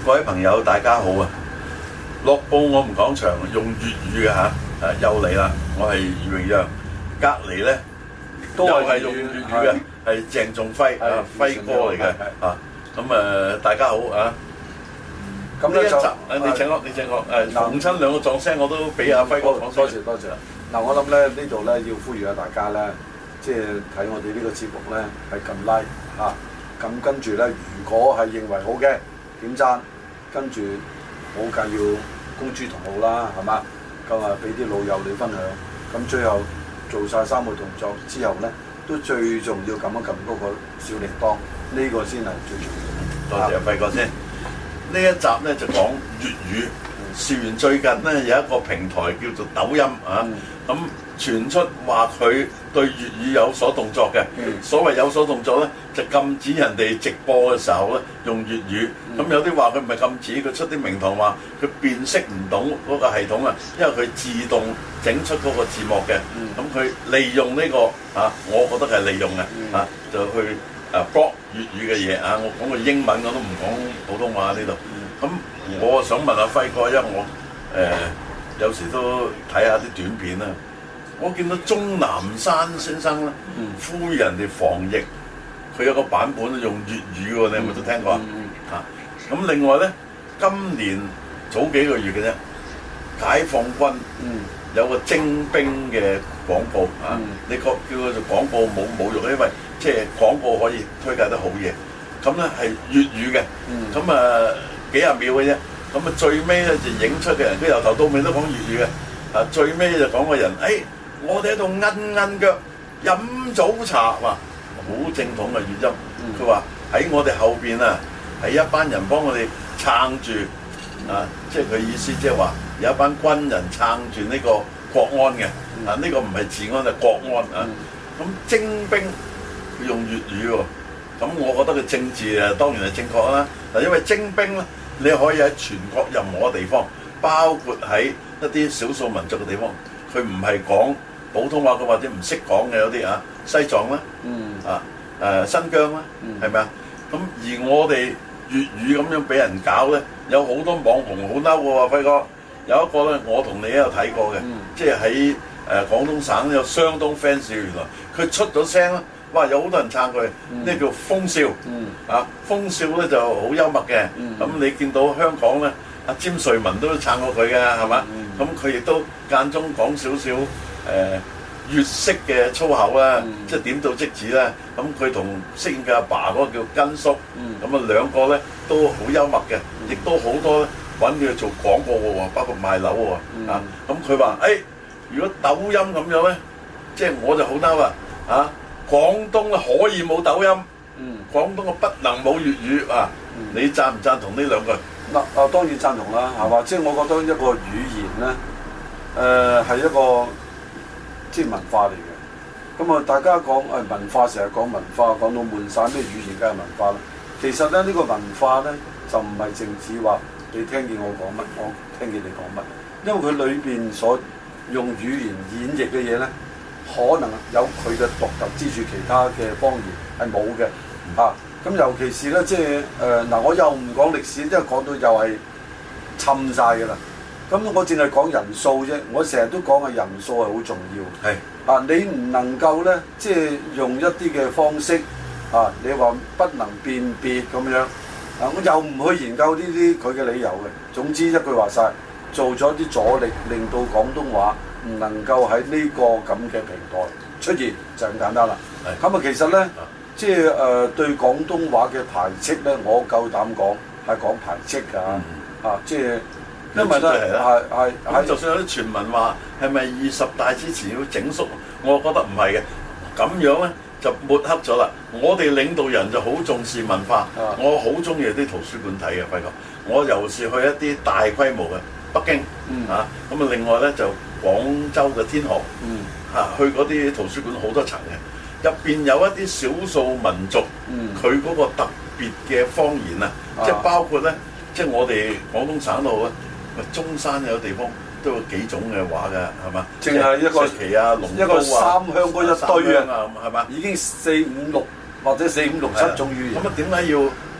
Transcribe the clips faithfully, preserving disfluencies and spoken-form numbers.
各位朋友，大家好啊！樂報我們講場用粵語嘅嚇，誒又嚟啦！我係余榮陽，隔離咧都係用粵語嘅，係鄭仲輝啊，輝哥嚟嘅啊！咁誒大家好啊！咁呢一集誒你請我，你請我誒逢親兩個撞聲我都俾阿輝哥講聲。 多謝多謝。嗱我諗咧呢度咧要呼籲下大家咧，即係睇我哋呢個節目咧係撳 like 嚇，咁跟住咧如果係認為好嘅點讚，跟住冇計要公諸同好啦，係嘛？咁啊俾啲老友你分享，咁最後做晒三個動作之後咧，都最重要撳一撳嗰個小鈴鐺，呢、這個先係最重要。 多謝阿輝哥先。呢一集咧就講粵語。事緣最近咧有一個平台叫做抖音啊，咁傳出話佢對粵語有所動作嘅。嗯、所謂有所動作咧，就禁止人哋直播嘅時候咧用粵語。咁、嗯、有啲話佢唔係禁止，佢出啲名堂話佢辨識唔到嗰個系統啊，因為佢自動整出嗰個字幕嘅。咁佢、嗯、利用呢、這個啊，我覺得係利用嘅、嗯、啊，就去啊 block 粵語嘅嘢啊。我講個英文我都唔講普通話呢度。咁、嗯、我想問阿輝哥，因為我誒、呃、有時都睇下啲短片啦。我見到鍾南山先生咧，嗯、呼籲人哋防疫，佢有個版本用粵語喎，你有冇都聽過、嗯嗯、啊？咁另外咧，今年早幾個月嘅啫，解放軍有個徵兵嘅廣告啊，嗯、你覺叫佢做廣告冇侮辱，因為即係廣告可以推介得好嘢。咁咧係粵語嘅，咁、嗯、啊〜幾廿秒嘅啫，咁啊最尾咧就影出嘅人，佢由頭到尾都講粵語嘅，啊最尾就講個人，誒、哎、我哋喺度韌韌腳飲早茶，哇好正統嘅語音，佢話喺我哋後邊啊，係一班人幫我哋撐住，啊即係佢意思即係話有一班軍人撐住呢個國安嘅，啊呢、這個唔係治安係國安啊，咁徵兵佢用粵語喎，咁我覺得佢政治啊當然係正確啦，嗱因為徵兵咧。你可以喺全國任何地方，包括喺一啲少數民族嘅地方，佢唔係講普通話嘅或者唔識講嘅有啲啊，西藏啦，嗯、啊誒、呃、新疆啦，係咪啊？咁而我哋粵語咁樣俾人搞咧，有好多網紅好嬲嘅喎，輝哥。有一個咧，我同你都有睇過嘅，嗯、即係喺誒廣東省有相當 fans 原來，佢出咗聲啦。哇！有好多人撐佢，呢、嗯、叫風笑，嗯、啊風笑咧就好幽默嘅。咁、嗯、你見到香港咧，阿詹瑞文都撐過佢嘅，係嘛？咁佢亦都間中講少少誒粵式嘅粗口啦，嗯、即係點到即止啦。咁佢同飾演嘅阿爸嗰個叫根叔，咁啊、嗯、兩個咧都好幽默嘅，亦、嗯、都好多咧揾佢做廣告喎，包括賣樓喎。嗯、啊咁佢話誒，如果抖音咁樣咧，即係我就好嬲啦，啊！廣東可以冇抖音，嗯，廣東嘅不能冇粵語啊！嗯、你贊唔贊同呢兩句？ 嗱啊，當然贊同啦，係嘛？即係我覺得一個語言咧，誒、呃、係一個即係文化嚟嘅。咁啊，大家講誒文化，成日講文化，講到悶晒咩語言梗係文化啦。其實咧，呢、呢個文化咧就唔係淨止話你聽見我講乜，我聽見你講乜，因為佢裏邊所用語言演繹嘅嘢咧。可能有佢嘅獨特之處，其他嘅方言係冇嘅啊！咁尤其是咧，即係誒嗱，我又唔講歷史，因為講到又係侵晒㗎啦。咁我淨係講人數啫，我成日都講嘅人數係好重要。係是啊，你唔能夠咧，即係用一啲嘅方式啊，你話不能辨別咁樣啊，我又唔去研究呢啲佢嘅理由嘅。總之一句話晒，做咗啲阻力，令到廣東話唔能夠喺呢個咁嘅平台出現，就咁簡單啦。咁啊的，其實咧，的即係誒、呃、對廣東話嘅排斥咧，我夠膽講係講排斥㗎。嗯、啊，即係因為咧係係係， 就算有啲傳聞話係咪二十大之前要整肅，我覺得唔係嘅。咁樣咧就抹黑咗啦。我哋領導人就好重視文化，的我好中意啲圖書館睇嘅，輝哥。我尤其是去一啲大規模嘅北京、嗯、啊，咁啊另外咧就。廣州嘅天河，嗯，嚇去嗰啲圖書館好多層嘅，入邊有一啲少數民族，嗯，佢嗰個特別嘅方言啊，即係包括咧，即係我哋廣東省度咧，中山有地方都有幾種嘅話㗎，係嘛？淨係一個旗啊，龍一個三鄉嗰一堆啊，係嘛？已經四五六或者四五六七種語言。咁啊點解要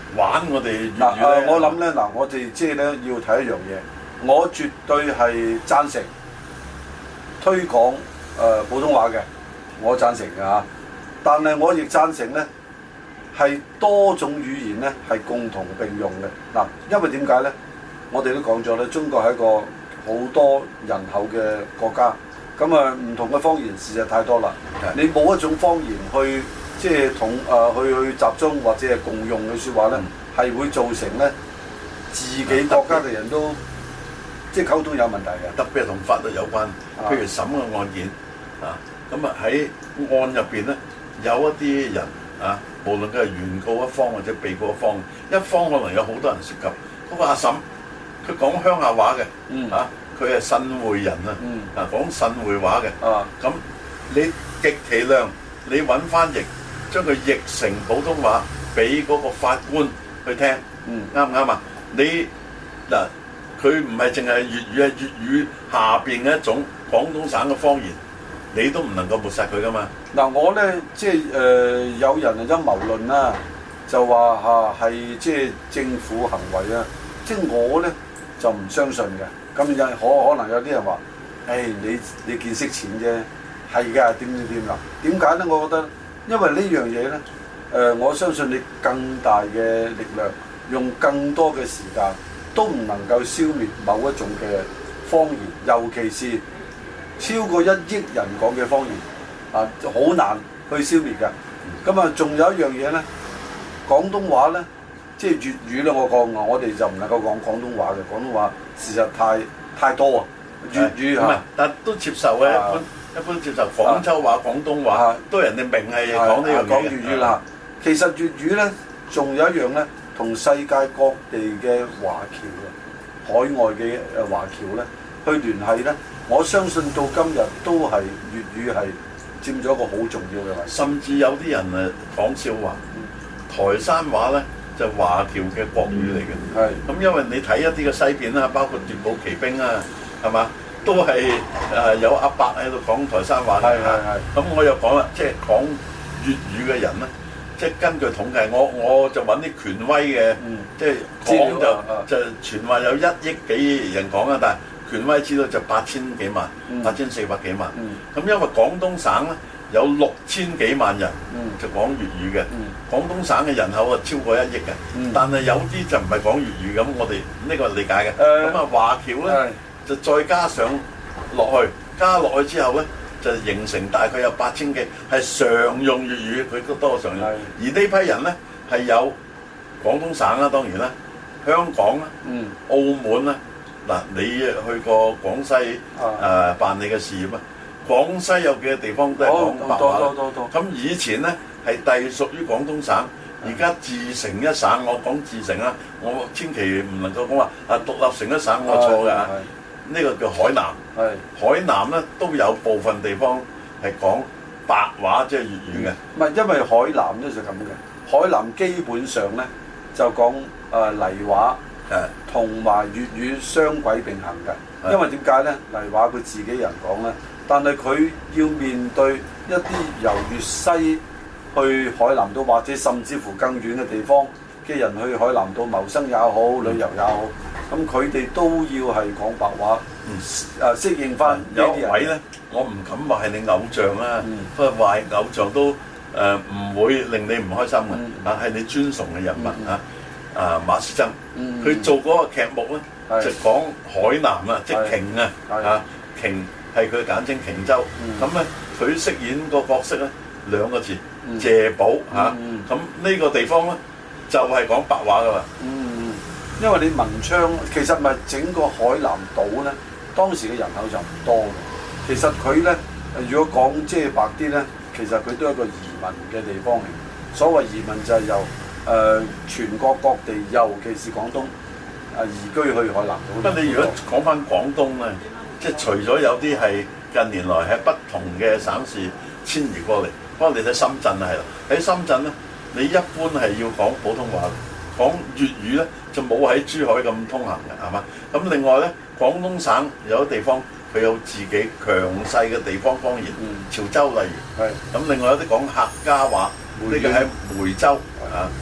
玩我哋粵嗱語咧？ 我諗咧嗱，我哋即係咧要睇一樣嘢，我絕對係贊成推廣誒、呃、普通話嘅，我贊成嘅嚇。但係我亦贊成咧係多種語言咧係共同並用嘅嗱，因為點解咧？我哋都講咗咧，中國係一個好多人口嘅國家，咁啊唔同嘅方言事實太多啦。你冇一種方言去即係同誒去去集中或者係共用嘅説話咧，係、嗯、會造成咧自己國家嘅人都即係溝通有問題嘅。 特別係同法律有關，譬如審嘅案件啊，咁啊喺案入邊咧有一啲人啊，無論佢係原告一方或者被告一方，一方可能有好多人涉及。嗰、那個阿嬸佢講鄉下話嘅，嗯、啊佢係汕會人啊，嗯、啊講汕會話嘅，咁、啊、你極其量你揾翻譯，將佢譯成普通話俾嗰個法官去聽，啱唔啱啊？你嗱佢唔係淨係粵語，係粵語下邊嘅一種廣東省嘅方言，你都唔能夠抹殺佢噶嘛？ 嗱、嗯、我咧即係誒、呃、有人係陰謀論啦，就話嚇係即係政府行為啊，即係我咧就唔相信嘅。咁有可可能有啲人話，誒、哎、你你見識淺啫，係㗎點點點啦？點解咧？我覺得因為呢樣嘢咧，誒、呃、我相信你更大嘅力量，用更多嘅時間，都唔能夠消滅某一種嘅方言，尤其是超過一億人講嘅方言，啊好難去消滅㗎。咁啊，仲有一樣嘢咧，廣東話咧。即係粵語咧，我講我哋就唔能夠講廣東話嘅，廣東話事實太太多啊。粵語唔係， 但都接受嘅。一般一般接受廣州話、廣東話，都人哋明係講呢樣嘢。講粵語啦，其實粵語咧，仲有一樣咧，同世界各地嘅華僑啊，海外嘅誒華僑咧，去聯繫咧，我相信到今日都係粵語係佔咗一個好重要嘅位置。甚至有啲人誒講笑話，台山話咧。就華僑嘅國語嚟嘅，係咁、嗯，因為你睇一啲嘅西片啦，包括《奪寶奇兵》啊，係嘛，都係誒、呃、有阿伯喺度講台山話嘅嚇。咁我又講啦，即係講粵語嘅人咧，即係根據統計，我我就揾啲權威嘅，嗯、即係講就、啊、就傳話有一億幾人講啊，但係權威知道就八千幾萬，八千四百幾萬。咁、嗯嗯、因為廣東省咧。有六千幾萬人就講粵語嘅，嗯、廣東省嘅人口啊超過一億嘅，嗯、但係有啲就唔係講粵語咁，我哋呢個理解嘅。咁啊、呃、華僑咧的就再加上落去，加落去之後咧就形成大概有八千幾係常用粵語，佢都多常用。的而呢批人咧係有廣東省啦，當然啦，香港啦，嗯、澳門啦。嗱，你去過廣西誒、呃、辦理嘅事業啊？廣西有幾個地方都係講白話啦，咁以前咧係隸屬於廣東省，而家自成一省。我講自成啦，我千祈唔能夠講話啊獨立成一省，我錯㗎。呢個叫海南，是海南咧都有部分地方係講白話，即係粵語嘅。唔係、嗯，因為海南咧就咁嘅，海南基本上咧就講誒黎話，同埋粵語雙軌並行嘅。是因為點解咧？黎話佢自己人講咧。但係佢要面對一啲由粵西去海南島，或者甚至乎更遠嘅地方嘅人去海南島謀生也好、旅遊也好，咁佢哋都要係講白話，誒適應翻。有位咧，我唔敢話係你偶像啦，不過話係偶像都誒唔會令你唔開心嘅，但係你尊崇嘅人物啊，啊馬師曾，佢做嗰個劇目咧就講海南啊，即係瓊啊，啊瓊。係佢簡稱瓊州，咁咧佢飾演個角色咧兩個字謝寶嚇，咁呢個地方咧就係講白話噶嘛。嗯，因為你文昌其實咪整個海南島咧，當時嘅人口就唔多嘅。其實佢咧，如果講即係白啲咧，其實佢都係一個移民嘅地方嚟。所謂移民就係由誒、呃、全國各地，尤其是廣東啊移居去海南島。不過你如果講翻廣東咧，即係除咗有啲係近年來喺不同嘅省市遷移過嚟，不過你睇深圳係啦，喺深圳咧，你一般係要講普通話，講粵語咧就冇喺珠海咁通行嘅，係嘛？咁另外咧，廣東省有啲地方佢有自己強勢嘅地方方言，嗯、潮州例如，係咁是另外有啲講客家話，呢個喺梅州啊，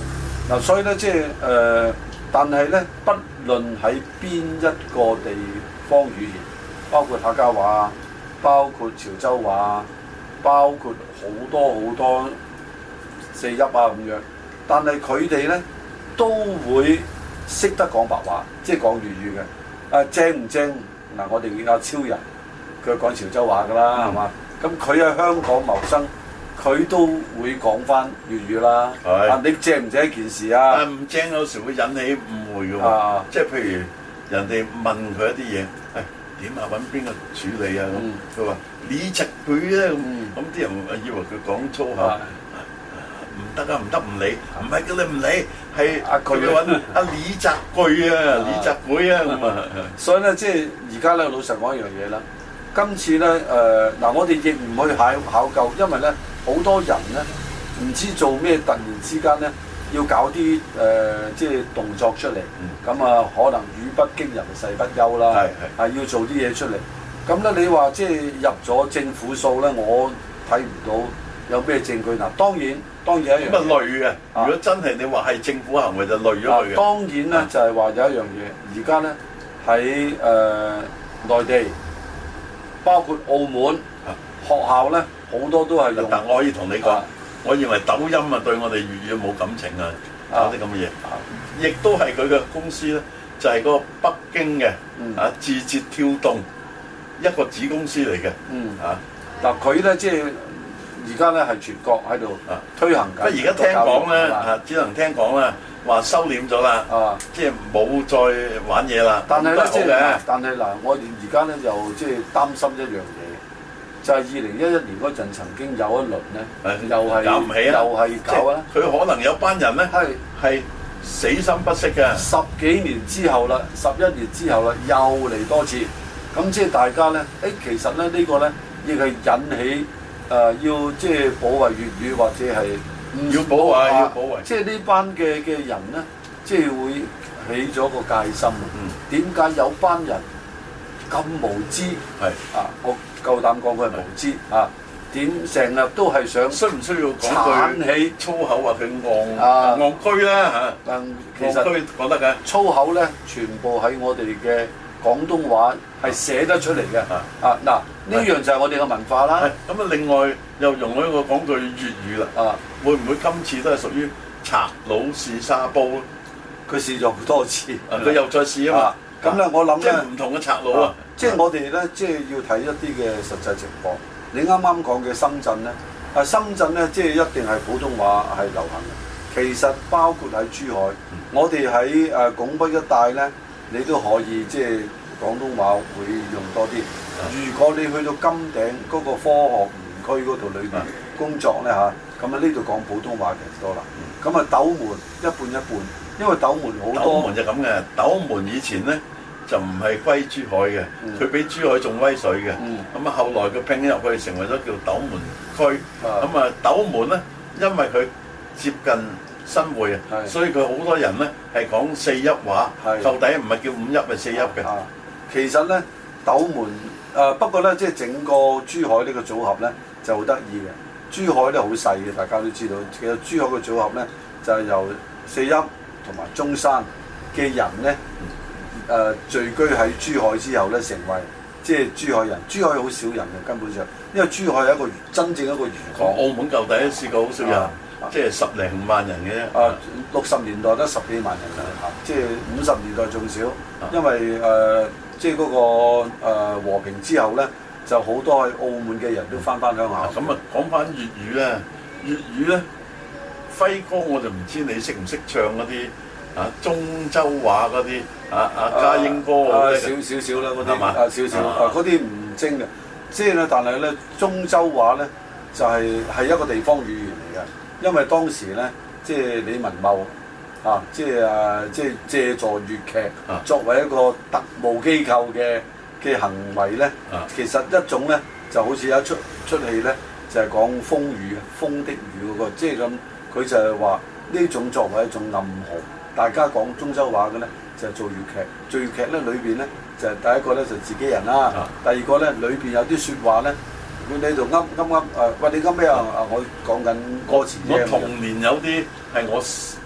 嗱，所以咧即係誒，但係咧，不論喺邊一個地方語言，包括客家話，包括潮州話，包括好多好多四邑啊咁樣，但係佢哋咧都會識得講白話，即係講粵語嘅。啊正唔正？嗱，我哋阿超人佢講潮州話㗎啦，係嘛、嗯？咁佢喺香港謀生，佢都會講翻粵語啦。係啊，你正唔正一件事啊？ 唔正有時會引起誤會嘅喎。啊、即係譬如人哋問佢一啲嘢，誒點啊？揾邊個處理啊？咁佢話你窒佢咧咁，咁啲人以為佢講粗口。唔得啊！唔得唔理，唔係叫你唔理，係佢要揾阿李澤钜啊，李澤钜啊咁啊。 所以咧，即係而家咧，老實講一樣嘢啦。今次咧，誒、呃、嗱，我哋亦唔去考考究，因為咧好多人咧唔知做咩，突然之間咧要搞啲誒、呃、即係動作出嚟。咁啊、嗯，可能語不驚人誓不休啦。係係係要做啲嘢出嚟。咁咧，你話即係入咗政府數咧，我睇唔到有咩證據嗱。當然。當然一樣咁啊累嘅，如果真係你話係政府行為就累咗佢嘅。當然咧就係話有一樣嘢，而家咧喺誒內地，包括澳門學校咧好多都係用。但我可以同你講，我認為抖音啊對我哋粵語冇感情啊，搞啲咁嘅嘢，亦都係佢嘅公司咧，就係嗰個北京嘅啊字節跳動一個子公司嚟嘅。嗯啊，嗱佢咧即係。而家咧係全國喺度推行緊。不過而家聽講咧，啊只能聽講啦，話收斂咗啦，啊即係冇再玩嘢啦。但係咧即係，但係嗱，我哋而家咧又即係擔心一樣嘢，就係二零一一年嗰陣曾經有一輪咧，又係搞唔起啊，又係搞啊。佢可能有班人咧係係死心不息嘅。十幾年之後啦，十一年之後啦，又嚟多次。咁即係大家咧，誒其實咧呢個咧亦係引起。誒、呃、要即係保衞粵語，或者係唔要保衞，要保衞。即係呢班嘅嘅人咧，即係會起咗個戒心。嗯。點解有班人咁無知？係是啊，我夠膽講佢係無知是啊！點成日都係想需唔需要講句粗口話佢戇啊戇居咧嚇？但其實講得嘅粗口咧，全部喺我哋嘅廣東話係寫得出嚟嘅。啊啊嗱！呢樣就係我哋嘅文化啦。咁啊，另外又容許我講句粵語啦。啊，會唔會今次都係屬於賊佬試沙煲咧？佢試咗好多次，佢又再試啊嘛。咁咧，我諗咧，即係唔同嘅賊佬啊。即係我哋咧，即係要睇一啲嘅實際情況。你啱啱講嘅深圳咧，啊深圳咧，即係一定係普通話係流行嘅。其實包括喺珠海，我哋喺誒拱北一帶咧，你都可以即係廣東話會用多啲。如果你去到金頂嗰個科學園區嗰度裏邊工作咧嚇，咁啊呢度講普通話其實多啦。咁啊斗門一半一半，因為斗門好多。斗門就咁嘅，斗門以前咧就唔係歸珠海嘅，佢比珠海仲威水嘅。咁啊後來佢拼入去成為咗叫斗門區。咁啊斗門咧，因為佢接近新會啊，所以佢好多人咧係講四邑話，到底唔係叫五邑係四邑嘅。其實咧斗門。誒、呃、不過咧，即係整個珠海呢個組合咧就好得意嘅。珠海咧好細嘅，大家都知道。其實珠海嘅組合咧就係、是、由四邑同埋中山嘅人咧誒、呃、聚居喺珠海之後咧，成為即係珠海人。珠海好少人嘅根本上，因為珠海係一個真正一個漁港。澳門舊底都試過好少人，啊、即係十零萬人嘅啫。啊，六十年代得十幾萬人嘅，啊、即係五十年代仲少，因為誒。呃即係嗰個和平之後咧，就好多喺澳門嘅人都翻返鄉下。咁啊，講翻粵語咧，粵語咧，輝哥我就唔知你識唔識唱嗰啲啊中州話嗰啲啊啊家英歌嗰啲。少少少啦，嗰啲啊少少啊，嗰啲唔精嘅。即係咧，但係咧，中州話咧就係、是、係一個地方語言嚟嘅，因為當時咧，即係李文茂。啊！即係啊！即係借助粵劇作為一個特務機構嘅嘅行為咧，啊、其實一種咧就好似有一出出戲咧，就係、是、講風雨風的雨嗰、那個，即係咁佢就係話呢種作為一種暗號。大家講中州話嘅咧就係、是、做粵劇，做粵劇咧裏邊咧就係、是、第一個咧就是、自己人啦，啊、第二個咧裏邊有啲説話咧，佢喺度噏噏噏誒，喂你噏咩啊？啊我講緊歌詞啫。我童年有啲係我。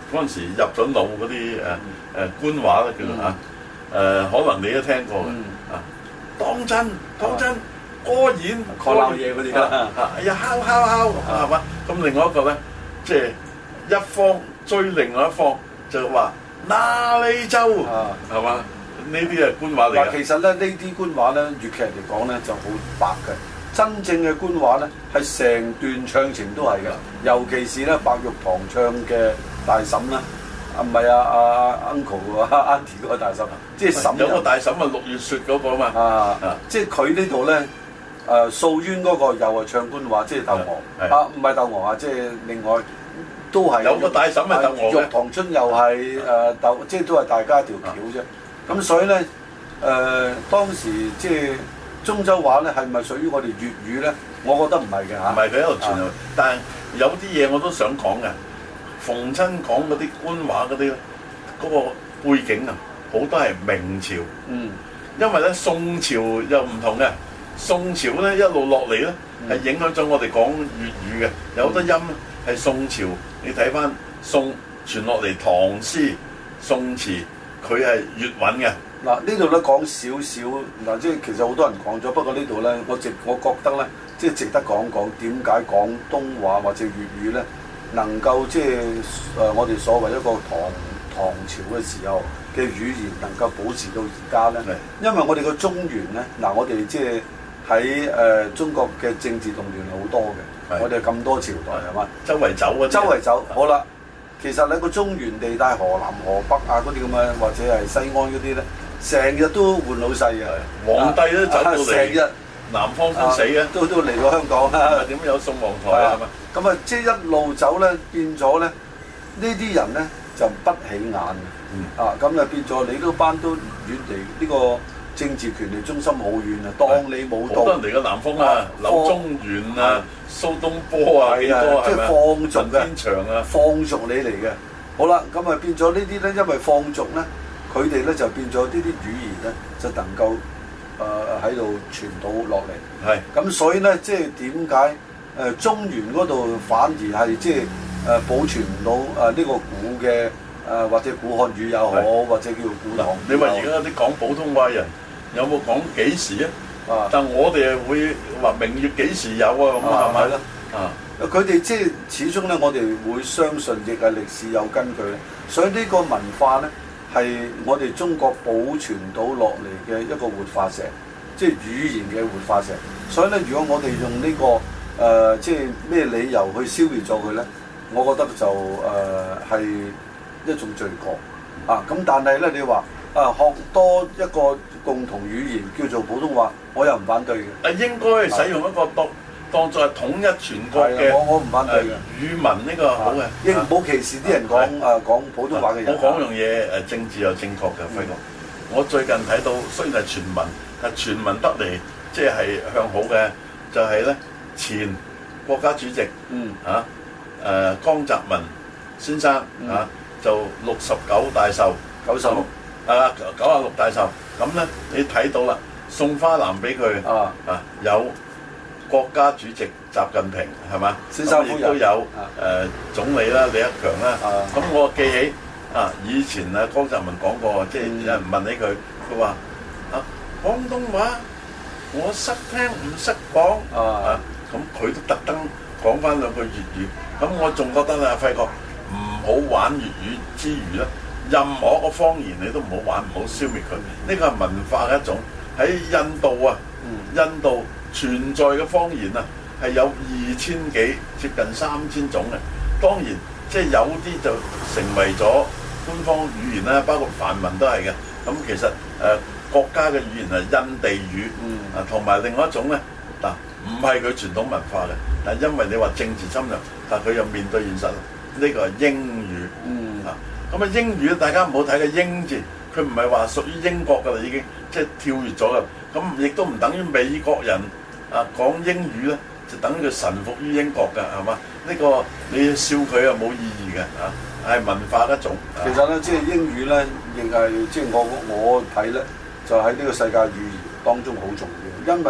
嗰陣時入咗腦嗰啲誒誒官話咧叫做嚇誒，可能你都聽過嘅啊。當真當真，歌演講鬧嘢嗰啲啦， 哎呀敲敲敲係嘛？咁另外一個咧，即係一方追另外一方就話那利州係嘛？呢啲係官話嚟嘅。 其實咧呢啲官話咧，粵劇嚟講咧就好白嘅。真正嘅官話咧係成段唱情都係嘅，尤其是咧白玉堂唱嘅大嬸啦，啊唔係啊啊 uncle 啊 auntie 嗰個大嬸，即係嬸。 有個大嬸啊，六月雪嗰個啊嘛。 啊啊！即係佢呢度咧，誒素淵嗰個又係唱官話，即係鬥鵝啊，唔係鬥鵝啊，即係另外都係有個大嬸係鬥鵝嘅。 玉堂春又係誒鬥，即係都係大家一條橋啫。咁所以咧誒當時即係。中州話咧係咪屬於我哋粵語咧？我覺得唔係嘅嚇。唔係佢喺度傳入，但係有啲嘢我都想講嘅。逢親講嗰啲官話嗰啲咧，嗰個背景啊，好多係明朝。嗯。因為咧宋朝又唔同嘅，宋朝咧一路落嚟咧係影響咗我哋講粵語嘅，有好多音係宋朝。你睇翻宋傳落嚟唐詩、宋詞，佢係粵韻嘅。 嗱呢度咧講少少，嗱即係其實好多人講咗，不過呢度咧我值我覺得咧，即係值得講講點解廣東話或者粵語咧能夠即係誒我哋所謂一個唐唐朝嘅時候嘅語言能夠保持到而家咧，因為我哋個中原咧，嗱我哋即係喺誒中國嘅政治動亂係好多嘅，我哋咁多朝代係嘛， 周圍走啊， 周圍走，好啦，其實咧個中原地帶河南河北啊嗰啲咁嘅，或者係西安嗰啲咧。成日都換老細嘅， 皇帝都走到嚟，成日南方先死嘅， 都都嚟到香港啦。 點有宋皇台啊？係嘛？ 咁啊，即係一路走咧，變咗咧，呢啲人咧就不起眼嘅。啊，咁啊變咗你嗰班都遠離呢個政治權力中心好遠啊，當你冇到。好多人嚟嘅南方啊，柳宗元啊、蘇東坡啊，幾多係咪啊？ 放逐嘅， 天長啊， 放逐你嚟嘅。好啦，咁啊變咗呢啲咧，因為放逐咧。佢哋咧就變咗呢啲語言咧，就能夠誒喺度傳到落嚟。係咁是，所以咧即係點解誒中原嗰度反而係即係誒保存唔到誒呢個古嘅誒、呃、或者古漢語又好，是或者叫古唐語。你話而家啲講普通話人有冇講幾時啊？啊！但我哋係會話明月幾時有啊？咁啊係咪咧？啊！佢哋即係始終咧，我哋會相信亦係歷史有根據咧，所以呢個文化咧。係我哋中國保存到落嚟嘅一個活化石，即係語言嘅活化石。所以咧，如果我哋用呢、這個誒、呃，即係咩理由去消滅咗佢咧，我覺得就誒係、呃、一種罪過啊。咁但係咧，你話啊學多一個共同語言叫做普通話，我又唔反對嘅。啊，應該使用一個當當作係統一全國嘅，我我唔反對嘅語文呢個好嘅，亦唔好歧視啲人講誒講普通話嘅人。我講樣嘢誒，政治又正確嘅，輝哥。我最近睇到雖然係全民，但全民得嚟即係向好嘅，就係咧前國家主席嗯嚇誒江澤民先生嚇就六十九大壽，九十六啊九啊六大壽。咁咧你睇到啦，送花籃俾佢啊啊有。國家主席習近平係嘛？先生亦都有誒、呃、總理啦，李克強啦。咁、啊、我記起啊，以前啊江澤民講過，即係有人問起佢，佢話啊廣東話我識聽唔識講啊，咁佢都特登講翻兩句粵語。咁我仲覺得咧，輝哥唔好玩粵語之餘咧，任何一個方言你都唔好玩，唔好消滅佢。呢個係文化嘅一種。喺印度啊，印度。存在嘅方言啊，係有二千幾，接近三千種嘅。當然，即係有啲就成為咗官方語言啦，包括梵文都係嘅。咁其實誒、呃、國家嘅語言係印地語，啊同埋另外一種咧，嗱唔係佢傳統文化嘅，但係因為你話政治侵略，但係佢又面對現實，呢、這個係英語。嗯、啊，咁啊英語大家唔好睇個英字，佢唔係話屬於英國㗎啦，已經即係跳越咗㗎。咁亦都唔等於美國人啊講英語咧，就等於佢臣服於英國㗎，係嘛？呢、這個你笑佢啊冇意義嘅嚇，係文化一種。其實咧，即係英語咧，亦係即係我我睇咧，就喺呢個世界語言當中好重要。因為咧，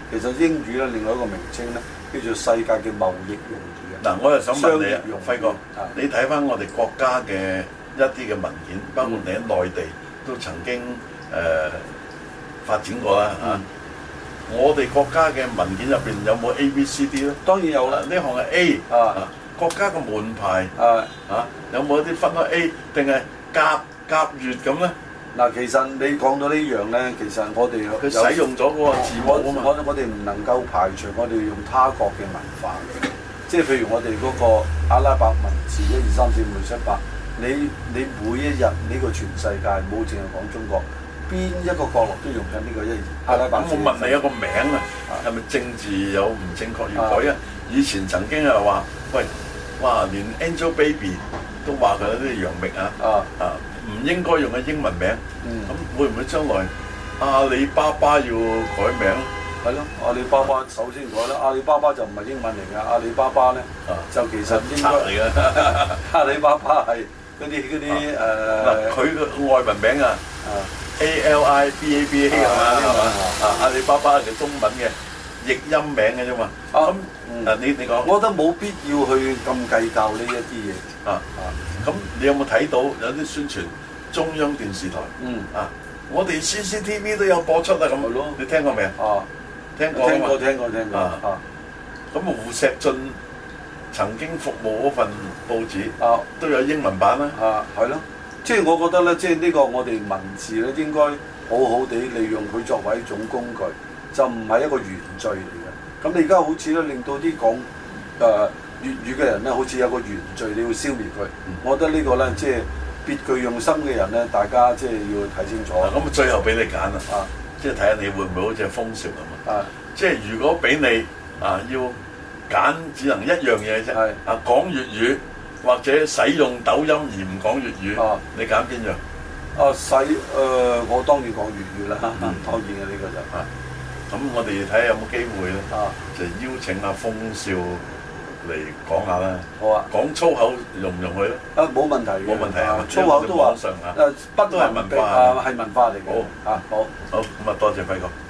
其實英語咧另外一個名稱咧叫做世界嘅貿易用語啊。 嗱，我又想問你啊，輝哥， 啊你睇翻我哋國家嘅一啲嘅文件，包括你喺內地都曾經誒、呃、發展過啦嚇。嗯、我哋國家嘅文件入邊有冇 A、B、C、D 咧？ 當然有啦。 呢項係 A 啊，啊，國家嘅門牌啊啊，有冇一啲分開 A 定係甲甲乙咁咧？嗱， 其實你講到呢樣咧，其實我哋佢使用咗嗰個字母啊嘛。 我我哋唔能夠排除我哋用他國嘅文化嘅，即係譬如我哋嗰個阿拉伯文字一二三四五六七八，你你每一日呢個全世界冇淨係講中國，邊一個角落都用緊呢個一二阿拉伯字。咁我問你一個名啊，係咪政治有唔正確要改啊？以前曾經係話，喂，哇，連 Angelababy 都話佢啲楊冪啊啊啊！唔應該用嘅英文名，咁、嗯、會唔會將來阿里巴巴要改名？係咯，阿里巴巴首先改啦。阿里巴巴就唔係英文嚟㗎，阿里巴巴咧、啊、就其實應該嚟嘅。阿里巴巴係嗰啲嗰啲誒，佢個、呃、外文名啊，A L I B A B A 係嘛？啊，阿里巴巴係中文嘅譯音名嘅啫嘛。咁誒，你你講，我覺得冇必要去咁計較呢一啲嘢啊啊！咁你有冇睇到有啲宣傳中央電視台？嗯啊，我哋 C C T V 都有播出啊咁。係咯，你聽過未啊？啊，聽過聽過聽過聽過啊啊！咁胡錫進曾經服務嗰份報紙啊，都有英文版啦。啊，係咯，即係我覺得咧，即係呢個我哋文字咧應該好好地利用佢作為一種工具，就唔係一個原罪嚟嘅。咁你而家好似咧令到啲講誒粵語嘅人咧，好似有個原罪，你要消滅佢。嗯、我覺得個呢個咧，即係別具用心嘅人咧，大家即係要睇清楚。咁、啊、最後俾你揀啦，啊，即係睇下你會唔會好似風潮咁啊？即係如果俾你啊，要揀只能一樣嘢啫。係啊，講粵語或者使用抖音而唔講粵語，啊、你揀邊樣？啊，使誒、呃，我當然講粵語啦，嗯、當然嘅呢、呢個就啊。咁我哋睇下有冇機會咧，啊、就邀請阿風少嚟講下啦。好啊，講粗口容唔容許咧？啊，冇問題嘅，冇問題啊。粗口都話誒，不都係文化啊，係文化嚟嘅。好啊，好，好咁啊，多謝輝哥。